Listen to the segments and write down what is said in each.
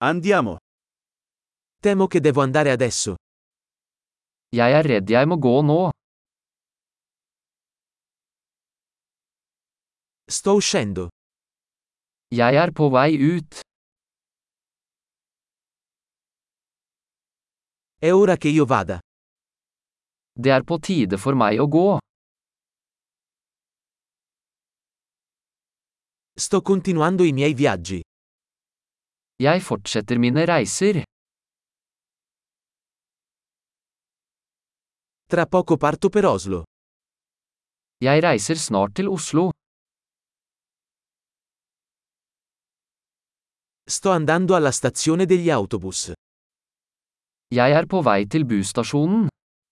Andiamo. Temo che devo andare adesso. Jeg er redd jeg må gå nå. Sto uscendo. Jeg er på vei ut. È ora che io vada. Det er på tide for meg å gå. Sto continuando i miei viaggi. Jeg fortsetter mine reiser. Tra poco parto per Oslo. Jeg reiser snart til Oslo. Sto andando alla stazione degli autobus. Jeg er på vei til busstasjonen.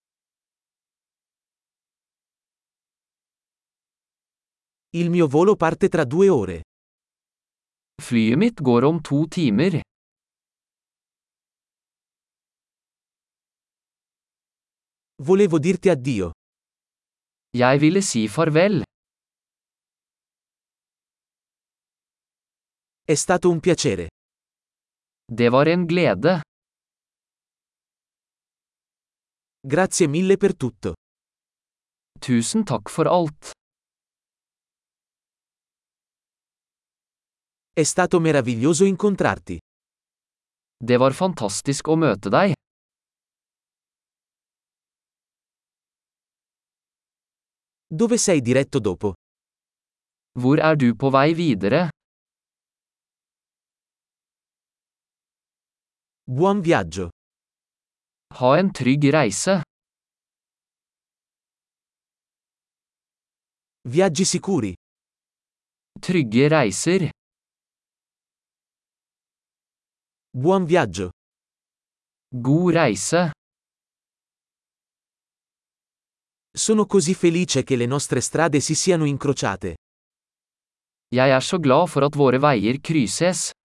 Il mio volo parte tra 2 ore. Flyet mitt går om 2 timer. Volevo dirti addio. Jeg ville si farvel. È stato un piacere. Det var en glede. Grazie mille per tutto. Tusen takk for alt. È stato meraviglioso incontrarti. Det var fantastisk å møte deg. Dove sei diretto dopo? Hvor er du på vei videre? Buon viaggio. Ha en trygg reise. Viaggi sicuri. Trygge reiser. Buon viaggio. God reise. Sono così felice che le nostre strade si siano incrociate. Jeg er så glad for at våre veier krysses.